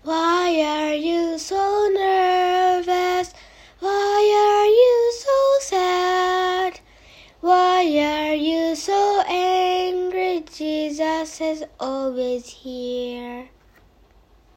Why are you so nervous? Why are you so sad? Why are you so angry? Jesus is always here.